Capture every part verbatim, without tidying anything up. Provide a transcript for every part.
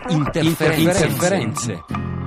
Interferenze. Interferenze.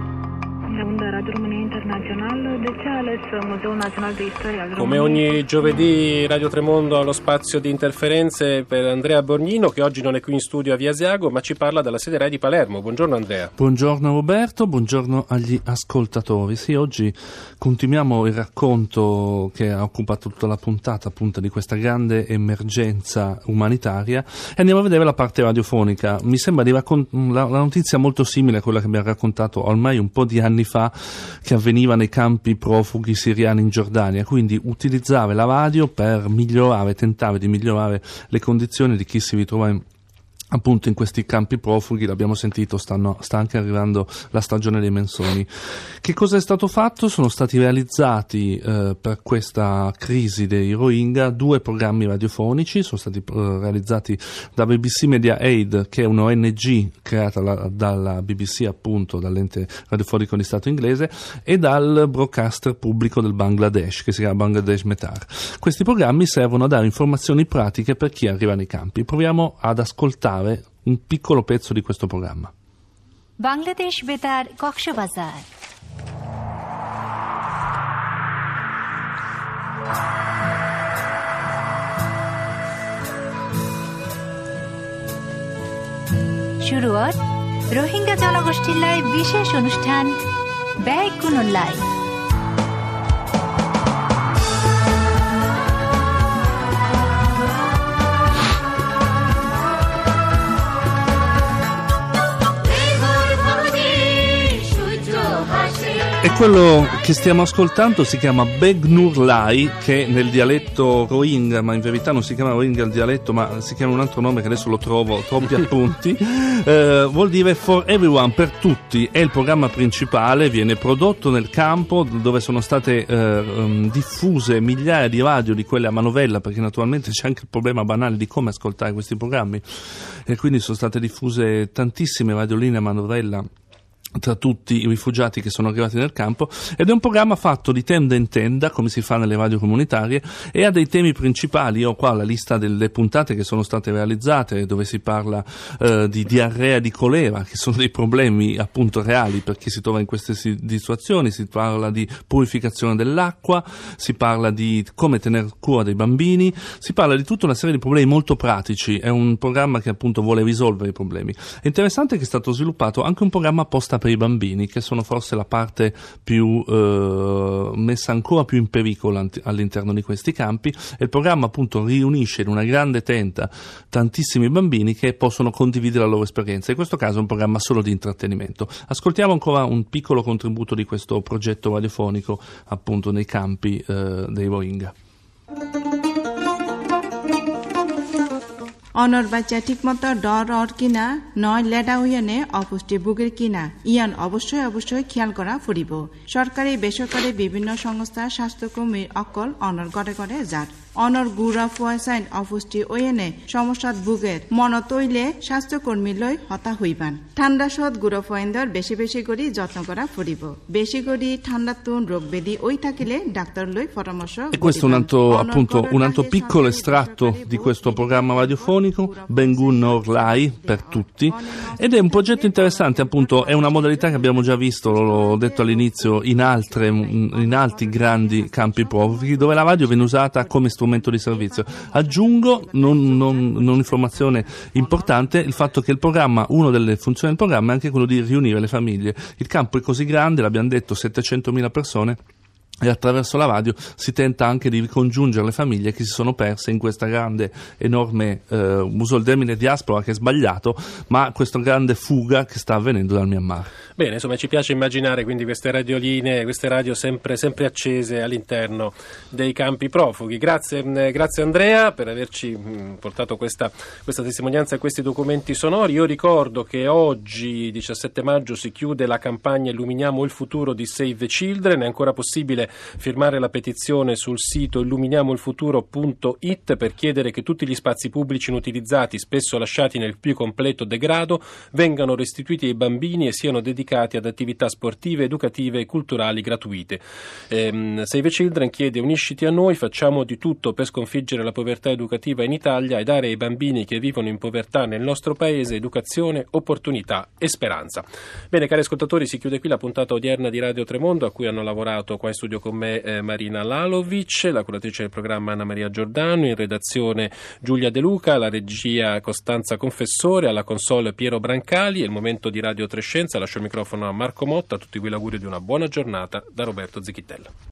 Come ogni giovedì Radio Tremondo ha lo spazio di interferenze per Andrea Borgnino, che oggi non è qui in studio a Via Asiago, ma ci parla dalla sede RAI di Palermo. Buongiorno Andrea. Buongiorno Roberto, buongiorno agli ascoltatori. Sì, oggi continuiamo il racconto che ha occupato tutta la puntata appunto di questa grande emergenza umanitaria e andiamo a vedere la parte radiofonica. Mi sembra di raccont- la, la notizia molto simile a quella che abbiamo raccontato ormai un po' di anni fa, che avveniva nei campi profughi siriani in Giordania, quindi utilizzare la radio per migliorare, tentare di migliorare le condizioni di chi si ritrova in appunto in questi campi profughi. L'abbiamo sentito, stanno, sta anche arrivando la stagione dei mensoni. Che cosa è stato fatto? Sono stati realizzati eh, per questa crisi dei Rohingya due programmi radiofonici, sono stati eh, realizzati da B B C Media Aid, che è un'O N G creata la, dalla B B C, appunto dall'ente radiofonico di Stato inglese, e dal broadcaster pubblico del Bangladesh, che si chiama Bangladesh Betar. Questi programmi servono a dare informazioni pratiche per chi arriva nei campi. Proviamo ad ascoltare un piccolo pezzo di questo programma. Bangladesh Betar Coxbazar. শুরুত রোহিঙ্গা জনগোষ্ঠীর লাই বিশেষ অনুষ্ঠান ব্যাগ কোনো লাই। E quello che stiamo ascoltando si chiama Beg Nur Lai, che nel dialetto Rohingya, ma in verità non si chiama Rohingya il dialetto, ma si chiama un altro nome che adesso lo trovo, troppi appunti, eh, vuol dire For Everyone, per tutti. È il programma principale, viene prodotto nel campo dove sono state eh, diffuse migliaia di radio, di quelle a manovella, perché naturalmente c'è anche il problema banale di come ascoltare questi programmi, e quindi sono state diffuse tantissime radioline a manovella tra tutti i rifugiati che sono arrivati nel campo, ed è un programma fatto di tenda in tenda, come si fa nelle radio comunitarie, e ha dei temi principali. Io ho qua la lista delle puntate che sono state realizzate, dove si parla eh, di diarrea, di colera, che sono dei problemi appunto reali per chi si trova in queste situazioni. Si parla di purificazione dell'acqua, si parla di come tener cura dei bambini, si parla di tutta una serie di problemi molto pratici. È un programma che appunto vuole risolvere i problemi. È interessante che è stato sviluppato anche un programma apposta per i bambini, che sono forse la parte più eh, messa ancora più in pericolo all'interno di questi campi, e il programma appunto riunisce in una grande tenda tantissimi bambini che possono condividere la loro esperienza. In questo caso è un programma solo di intrattenimento. Ascoltiamo ancora un piccolo contributo di questo progetto radiofonico appunto nei campi eh, dei Rohingya. অনর বাচ্চা ঠিকমতো ডর অর কিনা নয় লেডা হইয়ানে অপুষ্টি ভোগের কিনা ইয়ান অবশ্যই অবশ্যই খেয়াল করা ফুরিব। সরকারি বেসরকারি বিভিন্ন সংস্থা স্বাস্থ্যকর্মীর অকল অনর গড়ে গড়ে যার অনর গুড়া ফুয়াইসাইন অপুষ্টি ওয়েনে সমস্যাত ভোগের মন তৈলে স্বাস্থ্যকর্মী লৈ হতা হইবান। ঠান্ডা সদ গুড়া ফুয়াইন্দর বেশি বেশি করে যত্ন করা ফুরিব। বেশি করে ঠান্ডা তুন রোগ বেদি ওই থাকিলে ডাক্তার লৈ পরামর্শ। E questo è un altro, appunto, un altro piccolo estratto di questo programma radiofonico, Bengun Nur Lai, per tutti, ed è un progetto interessante. Appunto è una modalità che abbiamo già visto, l'ho detto all'inizio, in altre in altri grandi campi profughi, dove la radio viene usata come strumento di servizio. Aggiungo, non, non, non informazione importante, il fatto che il programma, una delle funzioni del programma è anche quello di riunire le famiglie. Il campo è così grande, l'abbiamo detto, settecentomila persone, e attraverso la radio si tenta anche di ricongiungere le famiglie che si sono perse in questa grande, enorme, eh, uso il termine diaspora che è sbagliato, ma questa grande fuga che sta avvenendo dal Myanmar. Bene, insomma ci piace immaginare quindi queste radioline, queste radio sempre, sempre accese all'interno dei campi profughi. Grazie, grazie Andrea per averci mh, portato questa, questa testimonianza e questi documenti sonori. Io ricordo che oggi, diciassette maggio, si chiude la campagna Illuminiamo il futuro di Save the Children. È ancora possibile firmare la petizione sul sito illuminiamo il futuro punto it per chiedere che tutti gli spazi pubblici inutilizzati, spesso lasciati nel più completo degrado, vengano restituiti ai bambini e siano dedicati ad attività sportive, educative e culturali gratuite. Ehm, Save the Children chiede: unisciti a noi, facciamo di tutto per sconfiggere la povertà educativa in Italia e dare ai bambini che vivono in povertà nel nostro paese educazione, opportunità e speranza. Bene, cari ascoltatori, si chiude qui la puntata odierna di Radio Tremondo, a cui hanno lavorato qua in studio con me eh, Marina Lalovic, la curatrice del programma Anna Maria Giordano, in redazione Giulia De Luca, la regia Costanza Confessore, alla console Piero Brancali. È il momento di Radio Trescenza, lascio il microfono a Marco Motta, a tutti voi l'augurio di una buona giornata da Roberto Zecchittella.